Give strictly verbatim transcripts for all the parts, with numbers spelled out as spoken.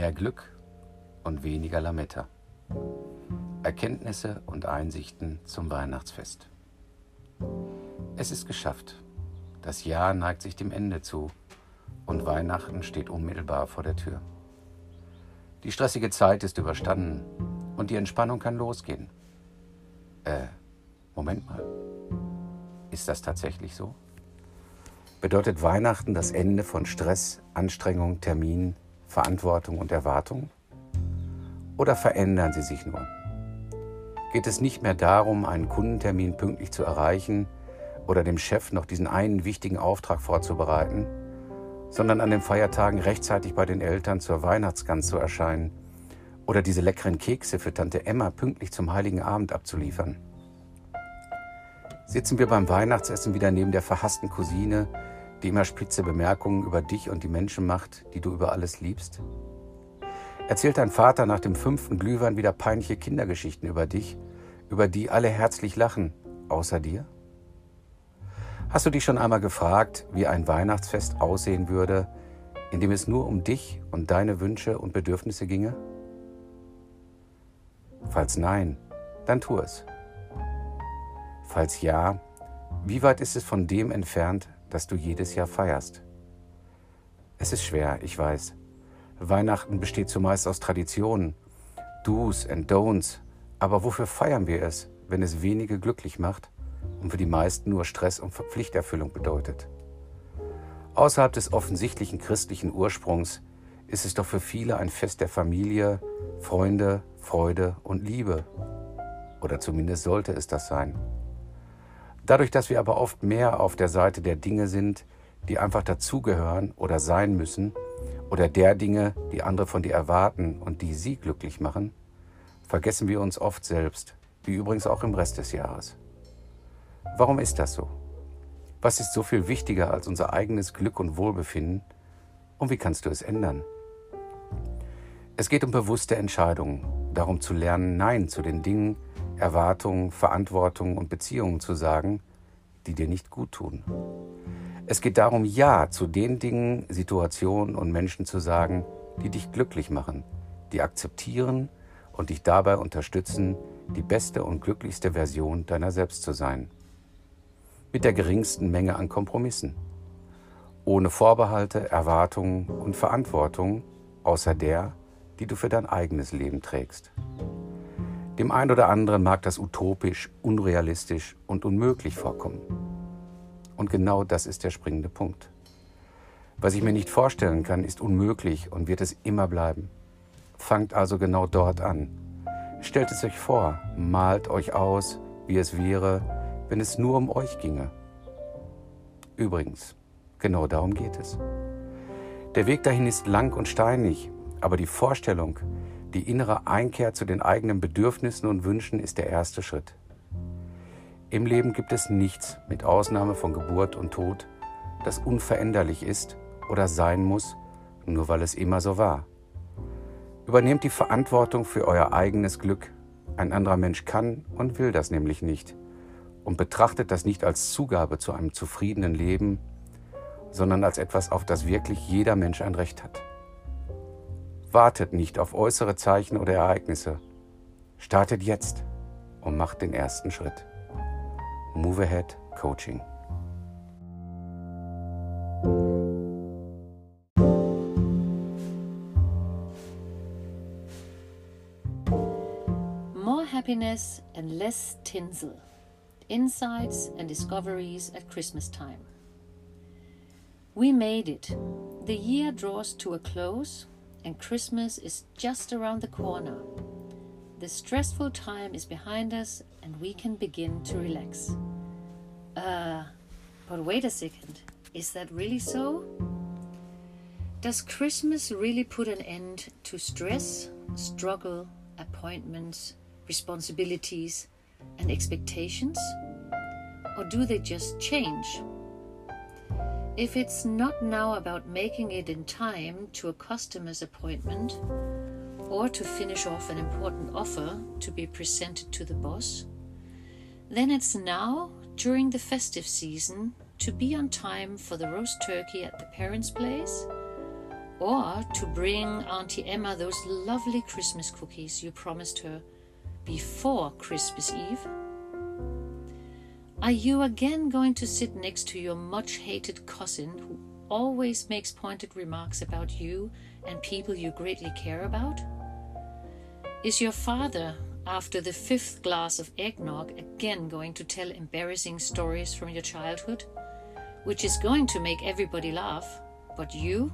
Mehr Glück und weniger Lametta. Erkenntnisse und Einsichten zum Weihnachtsfest. Es ist geschafft. Das Jahr neigt sich dem Ende zu und Weihnachten steht unmittelbar vor der Tür. Die stressige Zeit ist überstanden und die Entspannung kann losgehen. Äh, Moment mal. Ist das tatsächlich so? Bedeutet Weihnachten das Ende von Stress, Anstrengung, Terminen, Verantwortung und Erwartung? Oder verändern sie sich nur? Geht es nicht mehr darum, einen Kundentermin pünktlich zu erreichen oder dem Chef noch diesen einen wichtigen Auftrag vorzubereiten, sondern an den Feiertagen rechtzeitig bei den Eltern zur Weihnachtsgans zu erscheinen oder diese leckeren Kekse für Tante Emma pünktlich zum Heiligen Abend abzuliefern? Sitzen wir beim Weihnachtsessen wieder neben der verhassten Cousine, die immer spitze Bemerkungen über dich und die Menschen macht, die du über alles liebst? Erzählt dein Vater nach dem fünften Glühwein wieder peinliche Kindergeschichten über dich, über die alle herzlich lachen, außer dir? Hast du dich schon einmal gefragt, wie ein Weihnachtsfest aussehen würde, in dem es nur um dich und deine Wünsche und Bedürfnisse ginge? Falls nein, dann tu es. Falls ja, wie weit ist es von dem entfernt, das du jedes Jahr feierst? Es ist schwer, ich weiß. Weihnachten besteht zumeist aus Traditionen, Do's and Don'ts, aber wofür feiern wir es, wenn es wenige glücklich macht und für die meisten nur Stress und Pflichterfüllung bedeutet? Außerhalb des offensichtlichen christlichen Ursprungs ist es doch für viele ein Fest der Familie, Freunde, Freude und Liebe. Oder zumindest sollte es das sein. Dadurch, dass wir aber oft mehr auf der Seite der Dinge sind, die einfach dazugehören oder sein müssen, oder der Dinge, die andere von dir erwarten und die sie glücklich machen, vergessen wir uns oft selbst, wie übrigens auch im Rest des Jahres. Warum ist das so? Was ist so viel wichtiger als unser eigenes Glück und Wohlbefinden? Und wie kannst du es ändern? Es geht um bewusste Entscheidungen, darum zu lernen, Nein zu den Dingen, Erwartungen, Verantwortung und Beziehungen zu sagen, die dir nicht gut tun. Es geht darum, Ja zu den Dingen, Situationen und Menschen zu sagen, die dich glücklich machen, die akzeptieren und dich dabei unterstützen, die beste und glücklichste Version deiner selbst zu sein. Mit der geringsten Menge an Kompromissen. Ohne Vorbehalte, Erwartungen und Verantwortung, außer der, die du für dein eigenes Leben trägst. Dem einen oder anderen mag das utopisch, unrealistisch und unmöglich vorkommen. Und genau das ist der springende Punkt. Was ich mir nicht vorstellen kann, ist unmöglich und wird es immer bleiben. Fangt also genau dort an. Stellt es euch vor, malt euch aus, wie es wäre, wenn es nur um euch ginge. Übrigens, genau darum geht es. Der Weg dahin ist lang und steinig, aber die Vorstellung, die innere Einkehr zu den eigenen Bedürfnissen und Wünschen ist der erste Schritt. Im Leben gibt es nichts, mit Ausnahme von Geburt und Tod, das unveränderlich ist oder sein muss, nur weil es immer so war. Übernehmt die Verantwortung für euer eigenes Glück. Ein anderer Mensch kann und will das nämlich nicht. Und betrachtet das nicht als Zugabe zu einem zufriedenen Leben, sondern als etwas, auf das wirklich jeder Mensch ein Recht hat. Wartet nicht auf äußere Zeichen oder Ereignisse. Startet jetzt und macht den ersten Schritt. Move Ahead Coaching. More happiness and less tinsel. Insights and discoveries at Christmas time. We made it. The year draws to a close and Christmas is just around the corner. The stressful time is behind us and we can begin to relax. Uh, but wait a second, is that really so? Does Christmas really put an end to stress, struggle, appointments, responsibilities, and expectations? Or do they just change? If it's not now about making it in time to a customer's appointment or to finish off an important offer to be presented to the boss, then it's now, during the festive season, to be on time for the roast turkey at the parents' place, or to bring Auntie Emma those lovely Christmas cookies you promised her before Christmas Eve? Are you again going to sit next to your much-hated cousin who always makes pointed remarks about you and people you greatly care about? Is your father, after the fifth glass of eggnog, again going to tell embarrassing stories from your childhood, which is going to make everybody laugh, but you?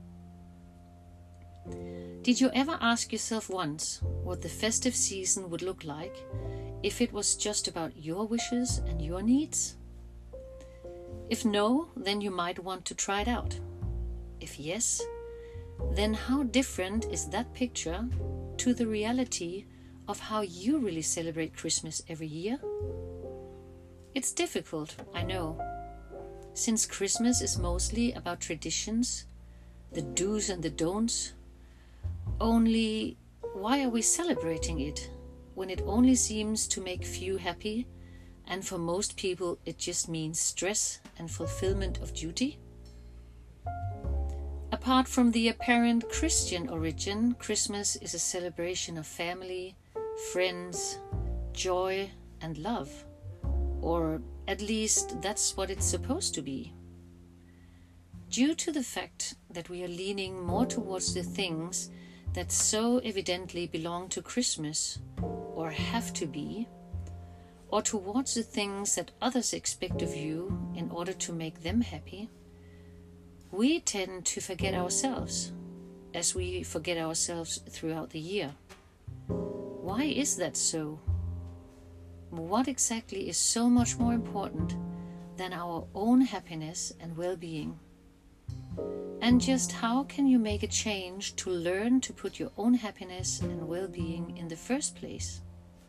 Did you ever ask yourself once what the festive season would look like if it was just about your wishes and your needs? If no, then you might want to try it out. If yes, then how different is that picture to the reality of how you really celebrate Christmas every year? It's difficult, I know, since Christmas is mostly about traditions, the do's and the don'ts. Only, why are we celebrating it when it only seems to make few happy, and for most people it just means stress and fulfillment of duty? Apart from the apparent Christian origin, Christmas is a celebration of family, friends, joy and love. Or at least that's what it's supposed to be. Due to the fact that we are leaning more towards the things that so evidently belong to Christmas, or have to be, or towards the things that others expect of you in order to make them happy, we tend to forget ourselves, as we forget ourselves throughout the year. Why is that so? What exactly is so much more important than our own happiness and well-being? And just how can you make a change to learn to put your own happiness and well-being in the first place?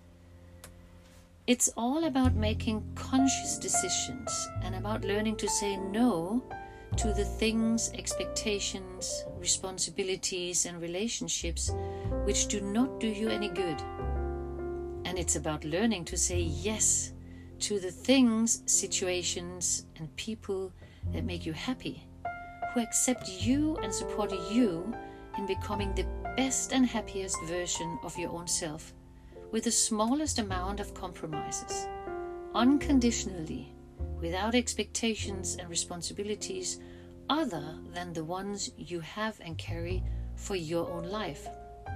It's all about making conscious decisions and about learning to say no to the things, expectations, responsibilities and relationships which do not do you any good. And it's about learning to say yes to the things, situations and people that make you happy, who accept you and support you in becoming the best and happiest version of your own self, with the smallest amount of compromises, unconditionally, without expectations and responsibilities other than the ones you have and carry for your own life.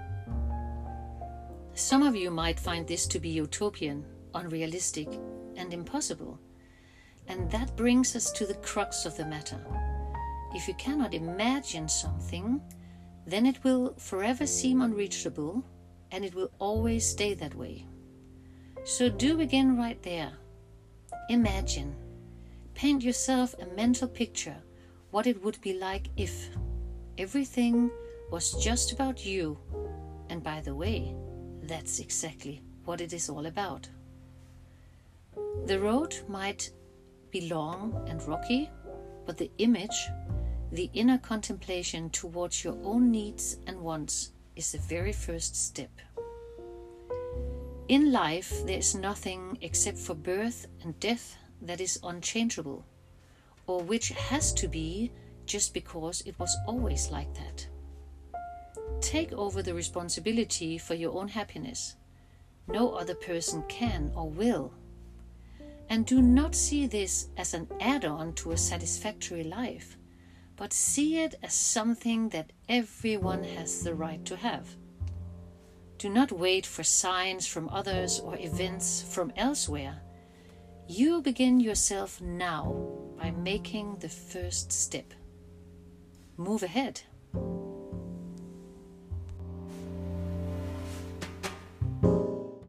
Some of you might find this to be utopian, unrealistic, and impossible. And that brings us to the crux of the matter. If you cannot imagine something, then it will forever seem unreachable, and it will always stay that way. So do begin right there. Imagine. Paint yourself a mental picture what it would be like if everything was just about you. And by the way, that's exactly what it is all about. The road might be long and rocky, but the image, the inner contemplation towards your own needs and wants is the very first step. In life, there is nothing except for birth and death that is unchangeable, or which has to be just because it was always like that. Take over the responsibility for your own happiness. No other person can or will. And do not see this as an add-on to a satisfactory life, but see it as something that everyone has the right to have. Do not wait for signs from others or events from elsewhere. You begin yourself now by making the first step. Move ahead.